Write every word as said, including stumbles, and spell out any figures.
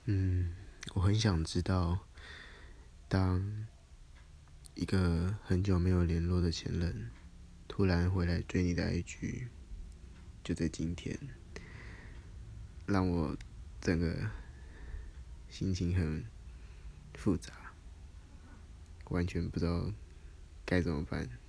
嗯，我很想知道，当一个很久没有联络的前任突然回来追你的 I G，就在今天，让我整个心情很复杂，完全不知道该怎么办。